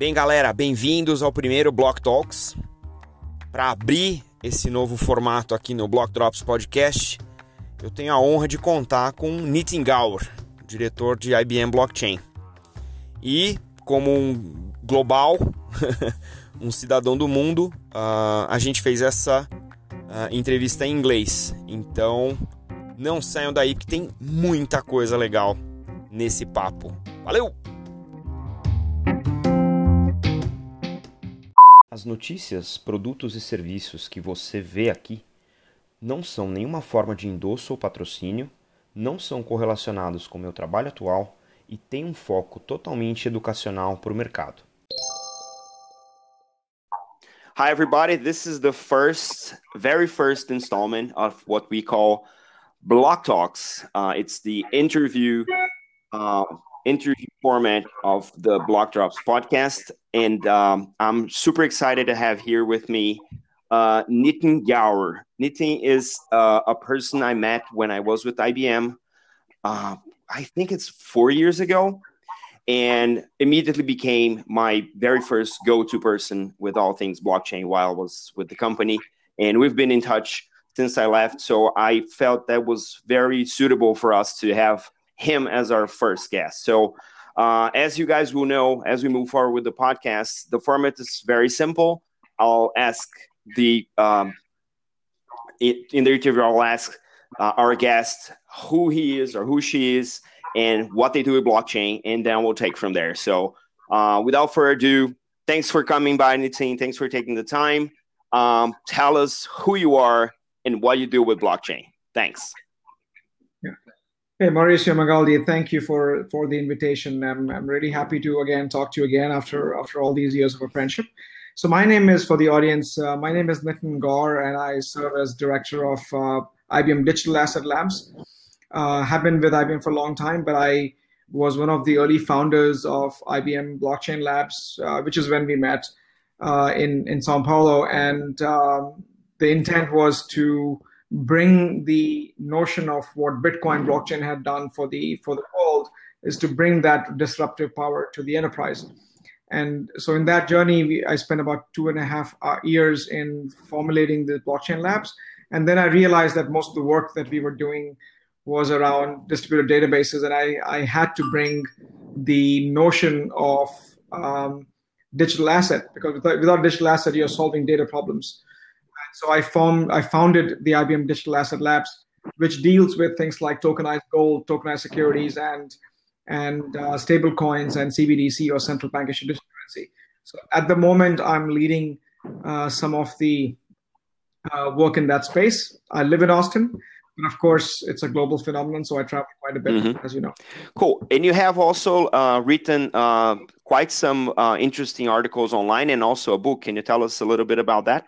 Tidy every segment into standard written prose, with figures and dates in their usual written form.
Bem, galera, bem-vindos ao primeiro Block Talks. Para abrir esse novo formato aqui no Block Drops Podcast, eu tenho a honra de contar com Nitin Gaur, diretor de IBM Blockchain. E como um global, um cidadão do mundo, a gente fez essa entrevista em inglês. Então, não saiam daí porque tem muita coisa legal nesse papo. Valeu! As notícias, produtos e serviços que você vê aqui não são nenhuma forma de endosso ou patrocínio, não são correlacionados com o meu trabalho atual e têm um foco totalmente educacional para o mercado. Hi, everybody. This is the very first installment of what we call Block Talks. It's the interview format of the Block Drops podcast. And I'm super excited to have here with me Nitin Gaur. Nitin is a person I met when I was with IBM. I think it's 4 years ago, and immediately became my very first go-to person with all things blockchain while I was with the company. And we've been in touch since I left. So I felt that was very suitable for us to have him as our first guest. So as you guys will know, as we move forward with the podcast, the format is very simple. I'll ask in the interview, I'll ask our guest who he is or who she is and what they do with blockchain, and then we'll take from there. So without further ado, thanks for coming by, Nitin. Thanks for taking the time. Tell us who you are and what you do with blockchain. Thanks. Hey, Mauricio Magaldi, thank you for the invitation. I'm really happy to again talk to you again after all these years of a friendship. So my name is, for the audience, my name is Nitin Gaur, and I serve as director of IBM Digital Asset Labs. Have been with IBM for a long time, but I was one of the early founders of IBM Blockchain Labs, which is when we met in Sao Paulo. And the intent was to bring the notion of what Bitcoin blockchain had done for the world, is to bring that disruptive power to the enterprise. And so in that journey, I spent about 2.5 years in formulating the blockchain labs. And then I realized that most of the work that we were doing was around distributed databases. And I had to bring the notion of digital asset, because without digital asset, you're solving data problems. So I founded the IBM Digital Asset Labs, which deals with things like tokenized gold, tokenized securities, and stable coins and CBDC, or central bank issued digital currency. So at the moment, I'm leading some of the work in that space. I live in Austin, but of course, it's a global phenomenon, so I travel quite a bit, as you know. Cool. And you have also written quite some interesting articles online and also a book. Can you tell us a little bit about that?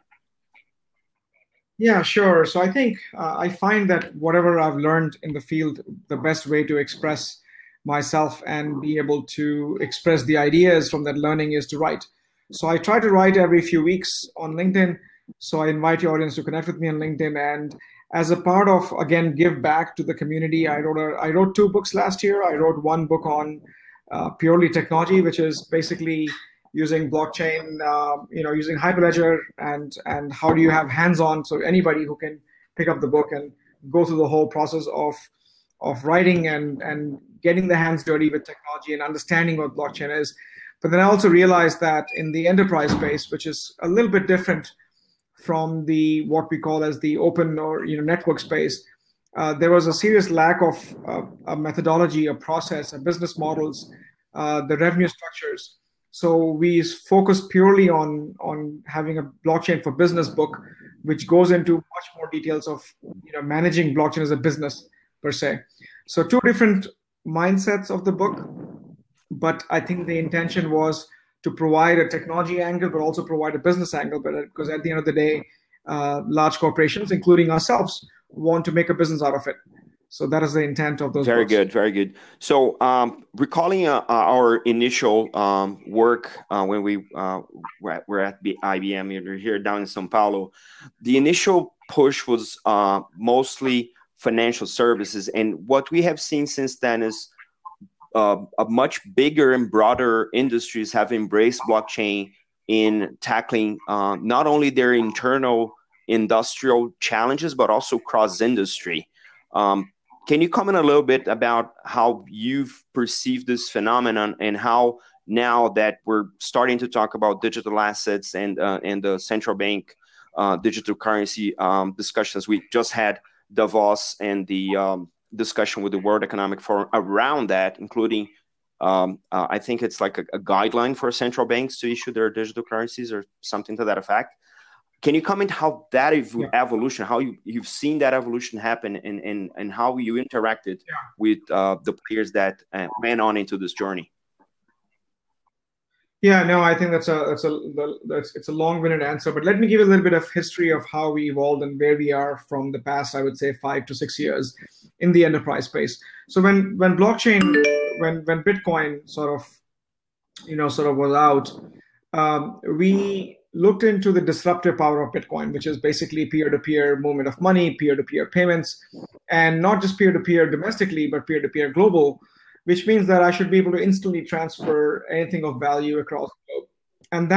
Yeah, sure. So I think I find that whatever I've learned in the field, the best way to express myself and be able to express the ideas from that learning is to write. So I try to write every few weeks on LinkedIn. So I invite your audience to connect with me on LinkedIn. And as a part of, again, give back to the community, I wrote 2 books last year. I wrote one book on purely technology, which is basically using blockchain, using Hyperledger, and how do you have hands-on, so anybody who can pick up the book and go through the whole process of writing and getting the hands dirty with technology and understanding what blockchain is. But then I also realized that in the enterprise space, which is a little bit different from what we call as the open or network space, there was a serious lack of a methodology, a process, a business models, the revenue structures. So we focus purely on having a blockchain for business book, which goes into much more details of managing blockchain as a business per se. So 2 different mindsets of the book, but I think the intention was to provide a technology angle, but also provide a business angle. Because at the end of the day, large corporations, including ourselves, want to make a business out of it. So that is the intent of those books. Very good. So recalling our initial work when we were at IBM here down in Sao Paulo, the initial push was mostly financial services. And what we have seen since then is a much bigger and broader industries have embraced blockchain in tackling not only their internal industrial challenges, but also cross-industry. Can you comment a little bit about how you've perceived this phenomenon and how now that we're starting to talk about digital assets and the central bank digital currency discussions, we just had Davos and the discussion with the World Economic Forum around that, including I think it's like a guideline for central banks to issue their digital currencies or something to that effect. Can you comment how that evolution, how you've seen that evolution happen, and how you interacted with the players that went on into this journey? Yeah, no, I think it's a long-winded answer, but let me give a little bit of history of how we evolved and where we are from the past, I would say 5 to 6 years in the enterprise space. So when Bitcoin sort of was out, we looked into the disruptive power of Bitcoin, which is basically peer-to-peer movement of money, peer-to-peer payments, and not just peer-to-peer domestically, but peer-to-peer global, which means that I should be able to instantly transfer anything of value across the globe. And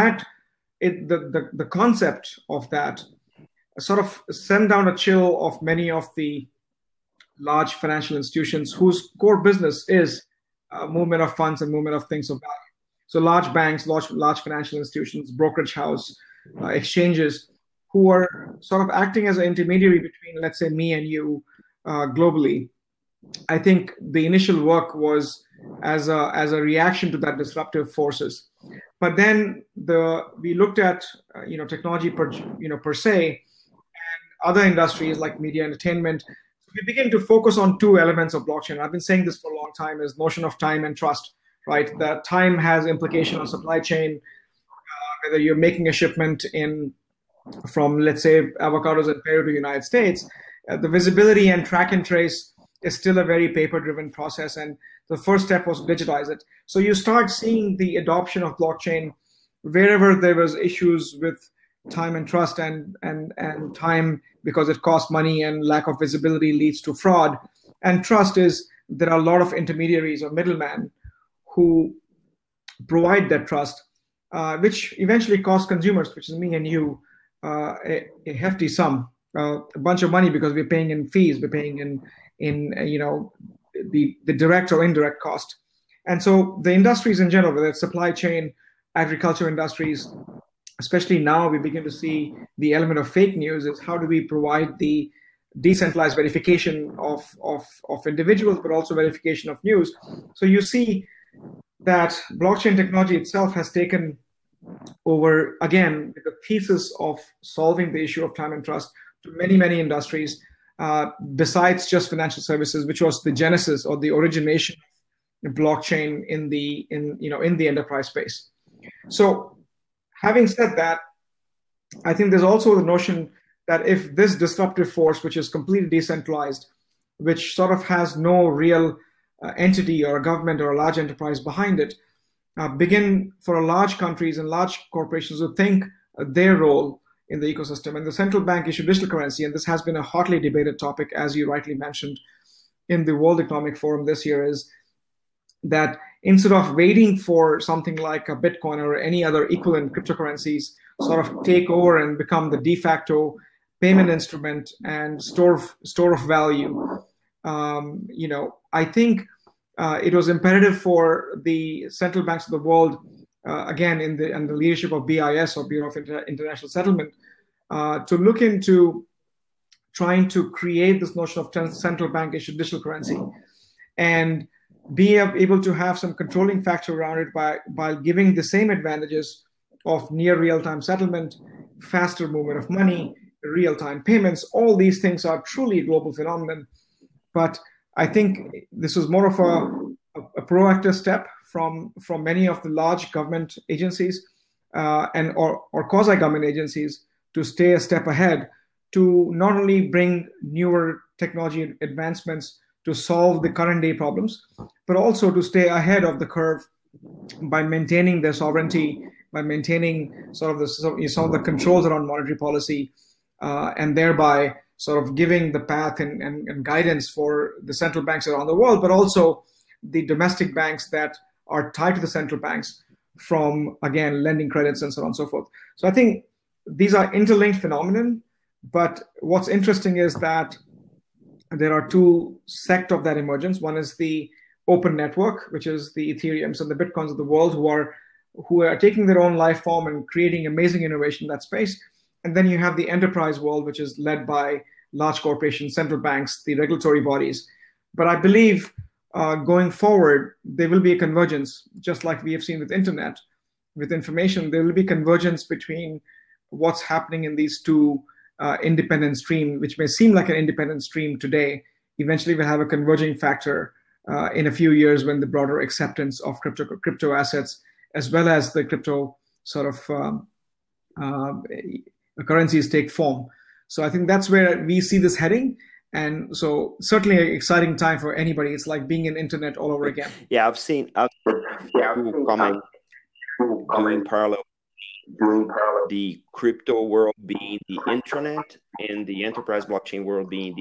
the concept of that sort of sent down a chill of many of the large financial institutions whose core business is movement of funds and movement of things of value. So large banks, large financial institutions, brokerage house, exchanges, who are sort of acting as an intermediary between, let's say, me and you globally. I think the initial work was as a reaction to that disruptive forces. But then we looked at technology per se, and other industries like media entertainment. We begin to focus on two elements of blockchain. I've been saying this for a long time: is notion of time and trust. Right, that time has implication on supply chain. Whether you're making a shipment from, let's say, avocados in Peru to the United States, the visibility and track and trace is still a very paper-driven process, and the first step was to digitize it. So you start seeing the adoption of blockchain wherever there was issues with time and trust, and time, because it costs money and lack of visibility leads to fraud, and trust is there are a lot of intermediaries or middlemen who provide that trust, which eventually costs consumers, which is me and you, a hefty sum, a bunch of money, because we're paying in fees, we're paying in the direct or indirect cost. And so the industries in general, whether it's supply chain, agriculture industries, especially now we begin to see the element of fake news, is how do we provide the decentralized verification of individuals, but also verification of news. So you see that blockchain technology itself has taken over, again, with the thesis of solving the issue of time and trust to many, many industries, besides just financial services, which was the genesis or the origination of blockchain in the enterprise space. So having said that, I think there's also the notion that if this disruptive force, which is completely decentralized, which sort of has no real entity or a government or a large enterprise behind it, begin for large countries and large corporations to think their role in the ecosystem. And the central bank issue digital currency, and this has been a hotly debated topic, as you rightly mentioned, in the World Economic Forum this year, is that instead of waiting for something like a Bitcoin or any other equivalent cryptocurrencies sort of take over and become the de facto payment instrument and store of value, I think it was imperative for the central banks of the world, again, under the leadership of BIS, or Bureau of International Settlement, to look into trying to create this notion of central bank issued digital currency and be able to have some controlling factor around it by giving the same advantages of near real-time settlement, faster movement of money, real-time payments. All these things are truly a global phenomenon. But I think this was more of a proactive step from many of the large government agencies or quasi-government agencies to stay a step ahead, to not only bring newer technology advancements to solve the current day problems, but also to stay ahead of the curve by maintaining their sovereignty, by maintaining some of the controls around monetary policy, and thereby sort of giving the path and guidance for the central banks around the world, but also the domestic banks that are tied to the central banks from, again, lending credits and so on and so forth. So I think these are interlinked phenomenon, but what's interesting is that there are two sects of that emergence. One is the open network, which is the Ethereums and the Bitcoins of the world who are taking their own life form and creating amazing innovation in that space. And then you have the enterprise world, which is led by large corporations, central banks, the regulatory bodies. But I believe going forward, there will be a convergence, just like we have seen with internet, with information. There will be convergence between what's happening in these two independent streams, which may seem like an independent stream today. Eventually, we'll have a converging factor in a few years when the broader acceptance of crypto assets, as well as the crypto sort of currencies take form. So I think that's where we see this heading. And so certainly an exciting time for anybody. It's like being in internet all over again. Yeah, I've seen people coming doing parallel. The crypto world being the internet and the enterprise blockchain world being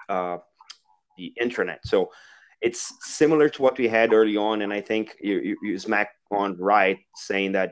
the internet. So it's similar to what we had early on. And I think you smack on right saying that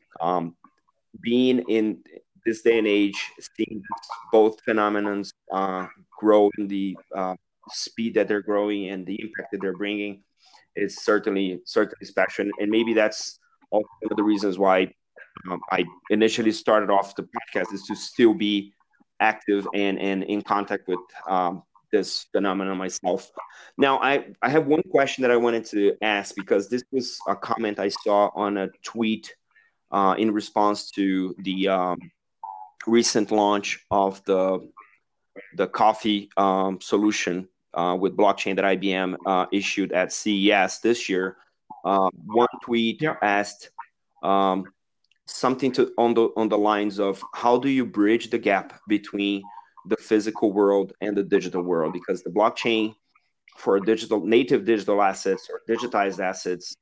being in this day and age, seeing both phenomenons grow in the speed that they're growing and the impact that they're bringing is certainly special. And maybe that's also one of the reasons why I initially started off the podcast, is to still be active and in contact with this phenomenon myself. Now, I have one question that I wanted to ask, because this was a comment I saw on a tweet in response to the recent launch of the coffee solution with blockchain that IBM issued at CES this year. One tweet asked something on the lines of, how do you bridge the gap between the physical world and the digital world? Because the blockchain for native digital assets or digitized assets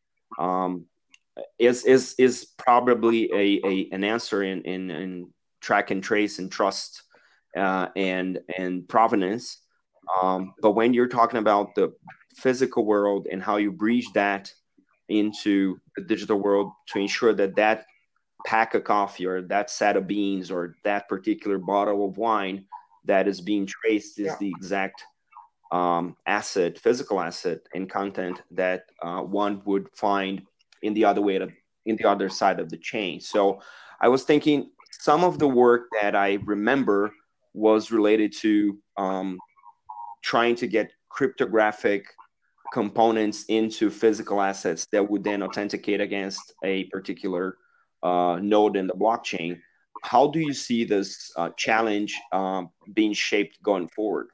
is probably an answer in track and trace and trust and provenance. But when you're talking about the physical world and how you bridge that into the digital world to ensure that pack of coffee or that set of beans or that particular bottle of wine that is being traced is the exact physical asset and content that one would find in the other side of the chain. So I was thinking some of the work that I remember was related to trying to get cryptographic components into physical assets that would then authenticate against a particular node in the blockchain. How do you see this challenge being shaped going forward?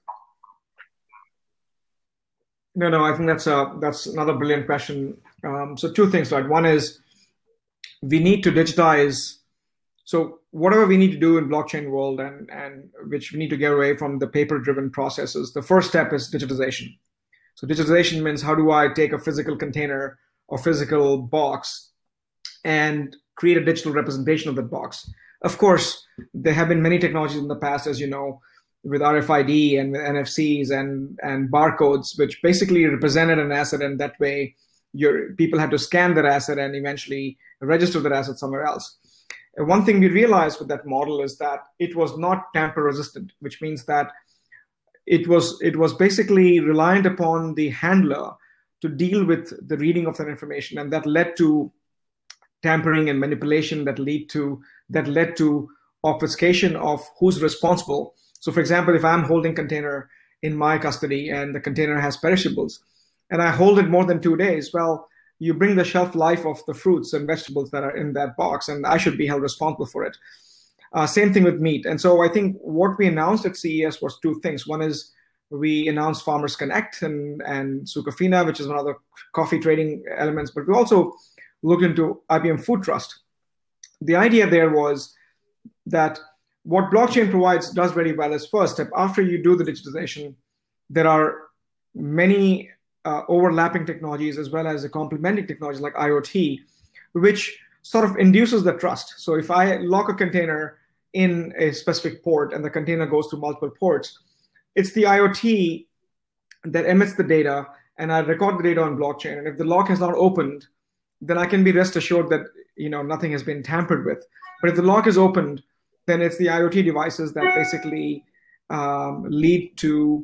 No, I think that's another brilliant question. So two things, right? One is we need to digitize. So whatever we need to do in blockchain world and which we need to get away from the paper-driven processes, the first step is digitization. So digitization means, how do I take a physical container or physical box and create a digital representation of that box? Of course, there have been many technologies in the past, as you know, with RFID and with NFCs and barcodes, which basically represented an asset, and that way people had to scan that asset and eventually register that asset somewhere else. And one thing we realized with that model is that it was not tamper resistant, which means that it was basically reliant upon the handler to deal with the reading of that information, and that led to tampering and manipulation that led to obfuscation of who's responsible. So for example, if I'm holding container in my custody and the container has perishables and I hold it more than 2 days, well, you bring the shelf life of the fruits and vegetables that are in that box, and I should be held responsible for it. Same thing with meat. And so I think what we announced at CES was two things. One is we announced Farmers Connect and Sucafina, which is one of the coffee trading elements, but we also looked into IBM Food Trust. The idea there was that what blockchain does very well is, first step, after you do the digitization, there are many overlapping technologies as well as the complementing technologies like IoT, which sort of induces the trust. So if I lock a container in a specific port and the container goes through multiple ports, it's the IoT that emits the data and I record the data on blockchain. And if the lock has not opened, then I can be rest assured that nothing has been tampered with. But if the lock is opened, then it's the IoT devices that basically leads to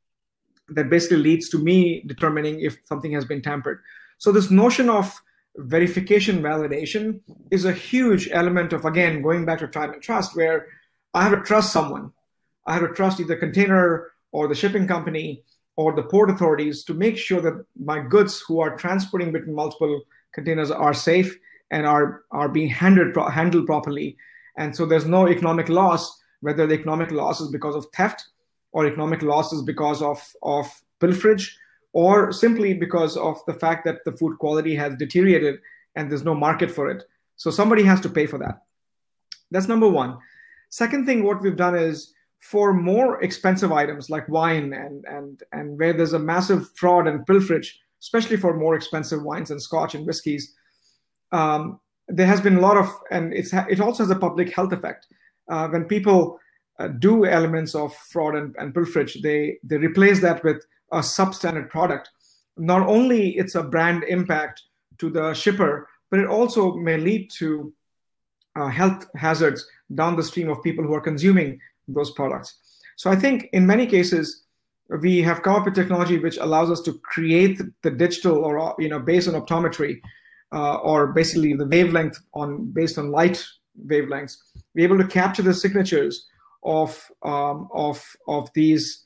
me determining if something has been tampered. So this notion of verification validation is a huge element of, again, going back to time and trust, where I have to trust someone. I have to trust either container or the shipping company or the port authorities to make sure that my goods who are transporting between multiple containers are safe and are being handled properly. And so there's no economic loss, whether the economic loss is because of theft or economic loss is because of pilferage, or simply because of the fact that the food quality has deteriorated and there's no market for it. So somebody has to pay for that. That's number one. Second thing, what we've done is for more expensive items like wine and where there's a massive fraud and pilferage, especially for more expensive wines and scotch and whiskeys, there has been a lot of, and it also has a public health effect. When people do elements of fraud and pilferage, they replace that with a substandard product. Not only it's a brand impact to the shipper, but it also may lead to health hazards down the stream of people who are consuming those products. So I think in many cases, we have come up with technology which allows us to create the digital, or based on optometry, or basically the wavelength based on light wavelengths, be able to capture the signatures of these,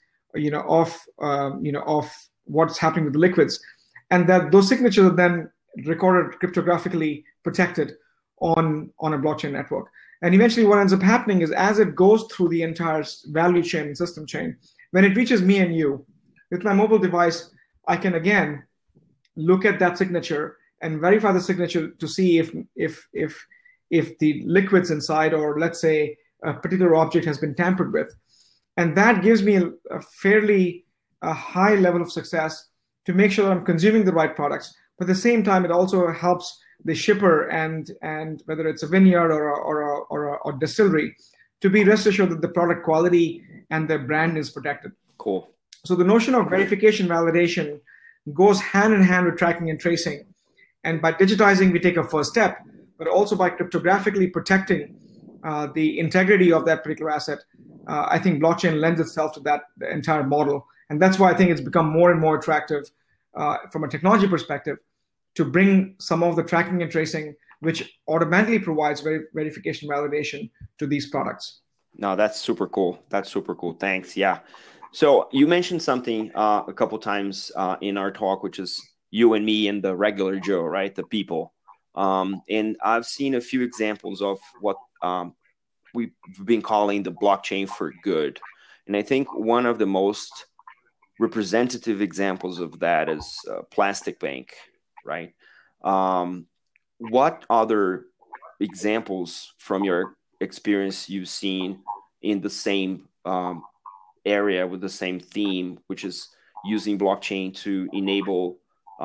of what's happening with the liquids, and that those signatures are then recorded cryptographically protected on a blockchain network. And eventually what ends up happening is, as it goes through the entire value chain and system chain, when it reaches me and you, with my mobile device, I can again look at that signature and verify the signature to see if the liquids inside, or let's say a particular object, has been tampered with. And that gives me a fairly high level of success to make sure that I'm consuming the right products. But at the same time, it also helps the shipper and whether it's a vineyard or a distillery, to be rest assured that the product quality and the brand is protected. Cool. So the notion of verification validation goes hand in hand with tracking and tracing. And by digitizing, we take a first step, but also by cryptographically protecting the integrity of that particular asset. I think blockchain lends itself to that entire model. And that's why I think it's become more and more attractive from a technology perspective to bring some of the tracking and tracing, which automatically provides verification validation to these products. No, that's super cool. That's super cool. Thanks. Yeah. So you mentioned something a couple times in our talk, which is you and me and the regular Joe, right? The people. And I've seen a few examples of what we've been calling the blockchain for good. And I think one of the most representative examples of that is Plastic Bank, right? What other examples from your experience you've seen in the same area with the same theme, which is using blockchain to enable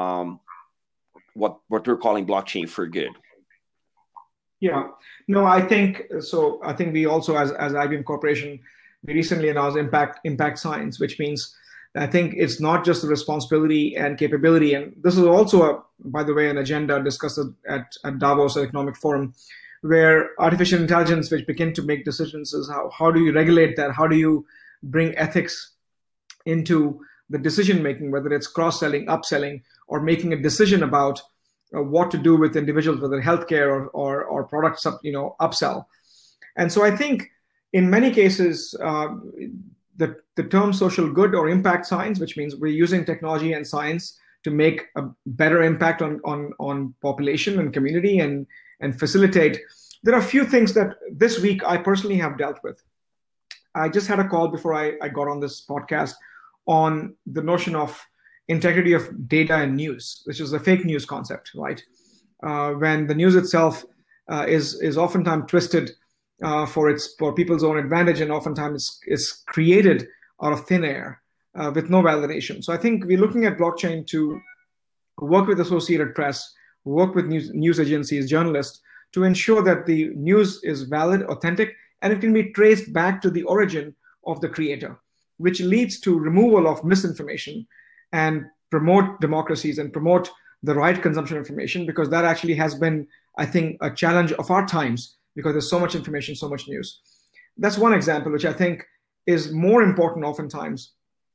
what we're calling blockchain for good? Yeah, no, I think so. I think we also, as IBM Corporation, we recently announced impact science, which means I think it's not just the responsibility and capability. And this is also, by the way, an agenda discussed at Davos Economic Forum, where artificial intelligence, which begin to make decisions, is how do you regulate that? How do you bring ethics into the decision making, whether it's cross-selling, upselling, or making a decision about what to do with individuals, whether healthcare or products, upsell. And so I think in many cases, the term social good or impact science, which means we're using technology and science to make a better impact on population and community and facilitate. There are a few things that this week I personally have dealt with. I just had a call before I got on this podcast on the notion of integrity of data and news, which is the fake news concept, right? When the news itself is oftentimes twisted for people's own advantage, and oftentimes is created out of thin air with no validation. So I think we're looking at blockchain to work with Associated Press, work with news agencies, journalists, to ensure that the news is valid, authentic, and it can be traced back to the origin of the creator, which leads to removal of misinformation and promote democracies and promote the right consumption of information, because that actually has been, I think, a challenge of our times, because there's so much information, so much news. That's one example, which I think is more important oftentimes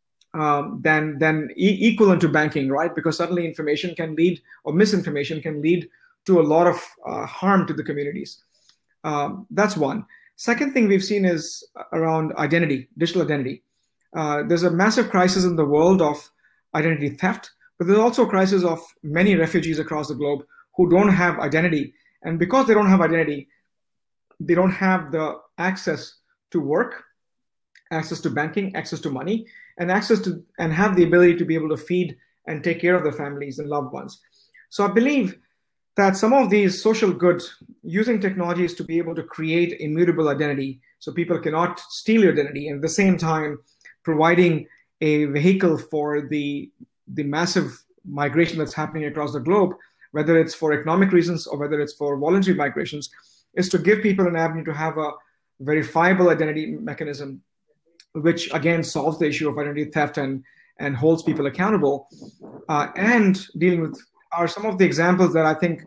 than equivalent to banking, right? Because suddenly information can lead, or misinformation can lead to a lot of harm to the communities. That's one. Second thing we've seen is around identity, digital identity. There's a massive crisis in the world of identity theft, but there's also a crisis of many refugees across the globe who don't have identity. And because they don't have identity, they don't have the access to work, access to banking, access to money, and have the ability to be able to feed and take care of their families and loved ones. So I believe that some of these social goods, using technologies to be able to create immutable identity, so people cannot steal your identity, and at the same time providing a vehicle for the massive migration that's happening across the globe, whether it's for economic reasons or whether it's for voluntary migrations, is to give people an avenue to have a verifiable identity mechanism, which again solves the issue of identity theft and holds people accountable. And dealing with are some of the examples that I think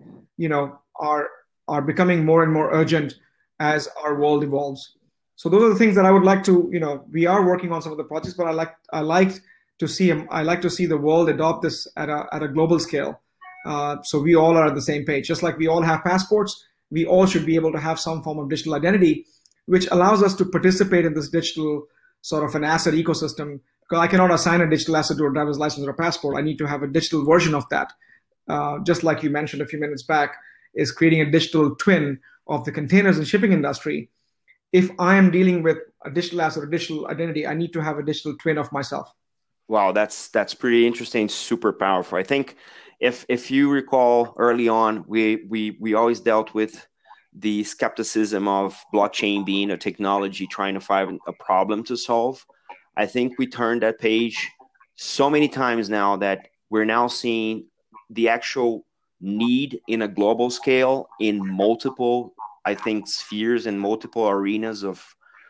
are becoming more and more urgent as our world evolves. So those are the things that I would like to, we are working on some of the projects, but I like to see the world adopt this at a global scale. So we all are at the same page. Just like we all have passports, we all should be able to have some form of digital identity, which allows us to participate in this digital sort of an asset ecosystem. Because I cannot assign a digital asset to a driver's license or a passport. I need to have a digital version of that. Just like you mentioned a few minutes back, is creating a digital twin of the containers and shipping industry. If I am dealing with a digital asset or digital identity, I need to have a digital twin of myself. Wow, that's pretty interesting, super powerful. I think if you recall early on, we always dealt with the skepticism of blockchain being a technology trying to find a problem to solve. I think we turned that page so many times now that we're now seeing the actual need in a global scale in multiple, I think, spheres and multiple arenas of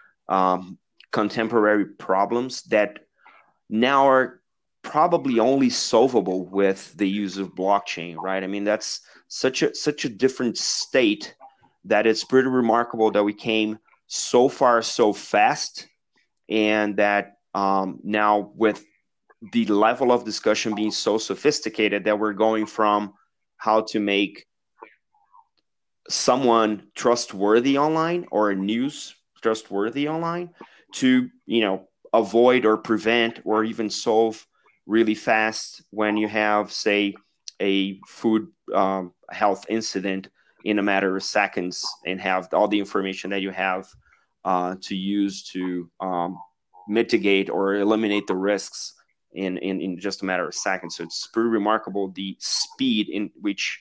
contemporary problems that now are probably only solvable with the use of blockchain, right? I mean, that's such a different state that it's pretty remarkable that we came so far so fast, and that now with the level of discussion being so sophisticated that we're going from how to make someone trustworthy online or a news trustworthy online to, avoid or prevent or even solve really fast when you have, say, a food health incident in a matter of seconds, and have all the information that you have to use to mitigate or eliminate the risks in just a matter of seconds. So it's pretty remarkable the speed in which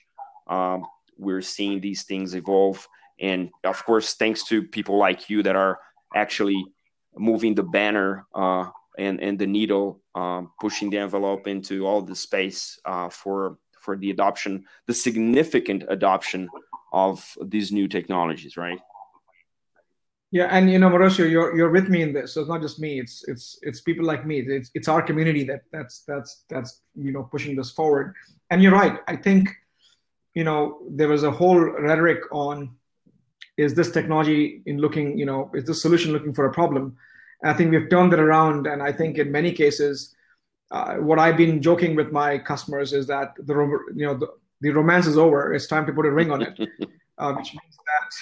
we're seeing these things evolve. And of course, thanks to people like you that are actually moving the banner and the needle, pushing the envelope into all the space for the adoption, the significant adoption of these new technologies, right? Yeah, and Mauricio, you're with me in this. So it's not just me; it's people like me. It's our community that's pushing this forward. And you're right. I think there was a whole rhetoric on, is this technology is this solution looking for a problem? And I think we've turned it around, and I think in many cases, what I've been joking with my customers is that the romance is over. It's time to put a ring on it, which means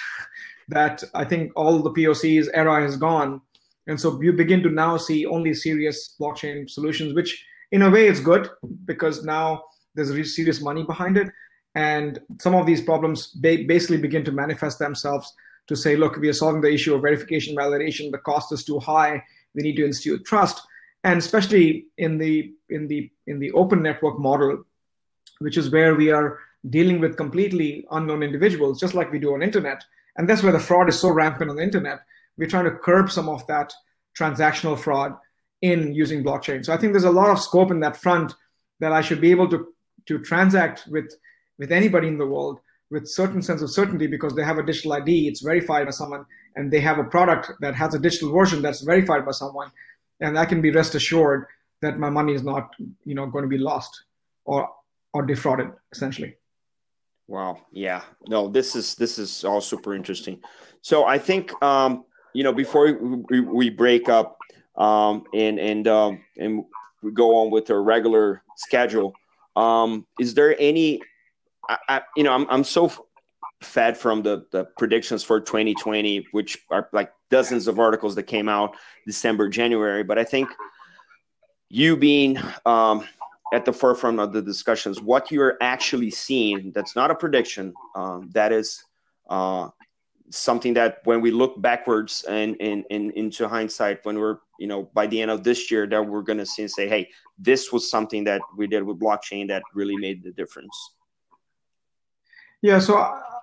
that I think all the POCs era is gone. And so you begin to now see only serious blockchain solutions, which in a way is good, because now there's really serious money behind it. And some of these problems basically begin to manifest themselves to say, look, we are solving the issue of verification, validation. The cost is too high. We need to institute trust. And especially in the open network model, which is where we are dealing with completely unknown individuals, just like we do on internet. And that's where the fraud is so rampant on the internet. We're trying to curb some of that transactional fraud in using blockchain. So I think there's a lot of scope in that front that I should be able to transact with anybody in the world with certain sense of certainty, because they have a digital ID, it's verified by someone, and they have a product that has a digital version that's verified by someone. And I can be rest assured that my money is not, going to be lost or defrauded, essentially. Wow. Yeah. No, this is all super interesting. So I think before we break up and we go on with our regular schedule, is there any? I'm so fed from the predictions for 2020, which are like dozens of articles that came out December, January. But I think you being at the forefront of the discussions, what you're actually seeing, that's not a prediction, that is something that when we look backwards and into hindsight, when we're, by the end of this year, that we're going to see and say, hey, this was something that we did with blockchain that really made the difference. Yeah, so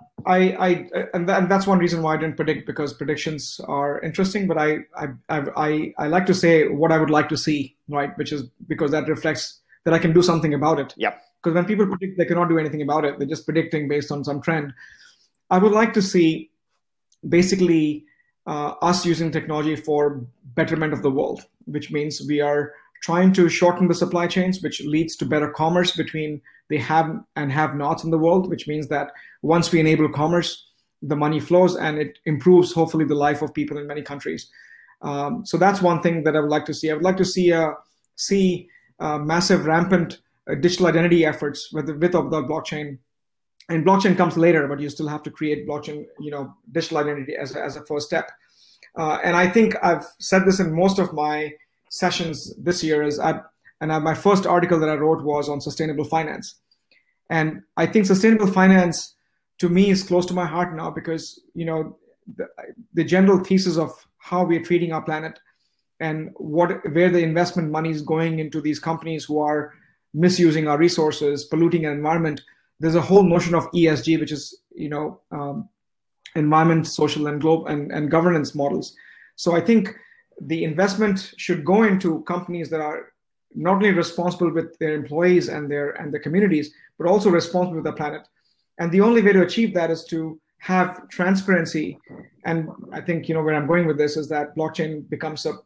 and that's one reason why I didn't predict, because predictions are interesting, but I like to say what I would like to see, right? Which is because that reflects that I can do something about it. Yeah. Because when people predict, they cannot do anything about it. They're just predicting based on some trend. I would like to see basically us using technology for betterment of the world, which means we are trying to shorten the supply chains, which leads to better commerce between the have and have-nots in the world, which means that once we enable commerce, the money flows and it improves, hopefully, the life of people in many countries. So that's one thing that I would like to see. I would like to see massive, rampant digital identity efforts with or without blockchain. And blockchain comes later, but you still have to create blockchain, digital identity as a first step. And I think I've said this in most of my sessions this year. My first article that I wrote was on sustainable finance. And I think sustainable finance, to me, is close to my heart now because, the general thesis of how we are treating our planet and where the investment money is going into these companies who are misusing our resources, polluting our environment. There's a whole notion of ESG, which is, environment, social, and global and governance models. So I think the investment should go into companies that are not only responsible with their employees and their communities, but also responsible with the planet. And the only way to achieve that is to have transparency. And I think, where I'm going with this is that blockchain becomes a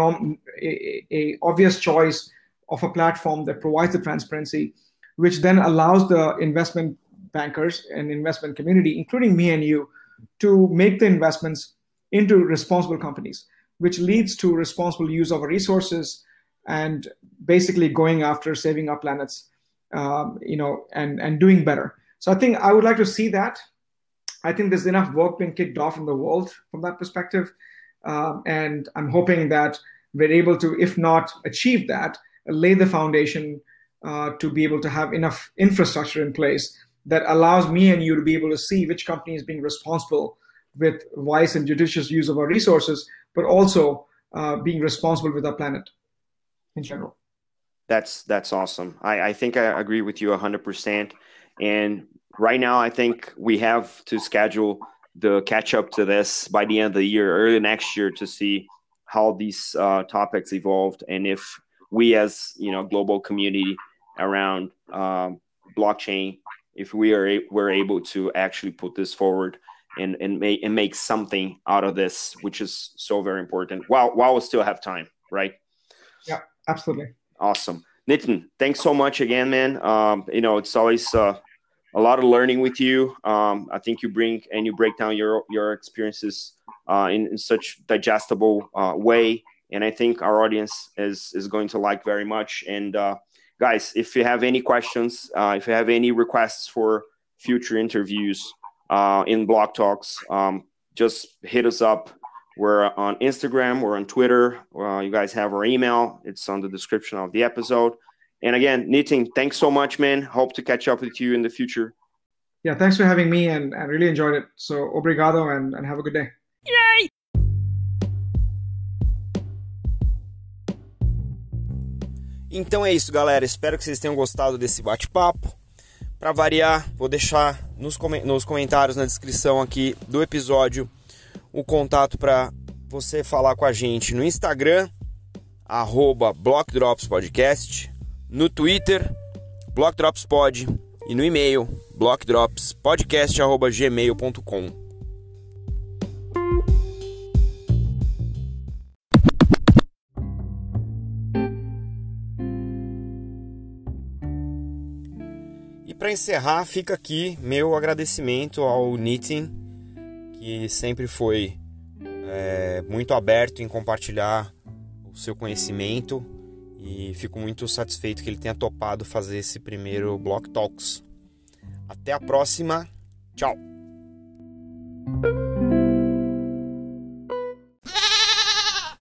obvious choice of a platform that provides the transparency, which then allows the investment bankers and investment community, including me and you, to make the investments into responsible companies, which leads to responsible use of our resources and basically going after saving our planets, and doing better. So I think I would like to see that. I think there's enough work being kicked off in the world from that perspective. And I'm hoping that we're able to, if not achieve that, lay the foundation to be able to have enough infrastructure in place that allows me and you to be able to see which company is being responsible with wise and judicious use of our resources, but also being responsible with our planet in general. That's awesome. I think I agree with you 100%. And right now, I think we have to schedule the catch up to this by the end of the year, early next year, to see how these topics evolved and if we as global community around blockchain, if we're able to actually put this forward and make something out of this, which is so very important while we still have time, right? Yeah, absolutely. Awesome. Nitin, thanks so much again, man. It's always a lot of learning with you. I think you break down your experiences in such digestible way. And I think our audience is going to like very much. And guys, if you have any questions, if you have any requests for future interviews in Block Talks, just hit us up. We're on Instagram, we're on Twitter. You guys have our email. It's on the description of the episode. And again, Nitin, thanks so much, man. Hope to catch up with you in the future. Yeah, thanks for having me, and I really enjoyed it. So, obrigado, and have a good day. Yay! Então é isso, galera. Espero que vocês tenham gostado desse bate-papo. Para variar, vou deixar nos comentários, na descrição aqui do episódio, o contato para você falar com a gente no Instagram, @BlockDropsPodcast, no Twitter, BlockDropsPod, e no e-mail, blockdropspodcast@gmail.com. E para encerrar, fica aqui meu agradecimento ao Nitin, que sempre foi muito aberto em compartilhar o seu conhecimento, e fico muito satisfeito que ele tenha topado fazer esse primeiro Block Talks. Até a próxima, tchau!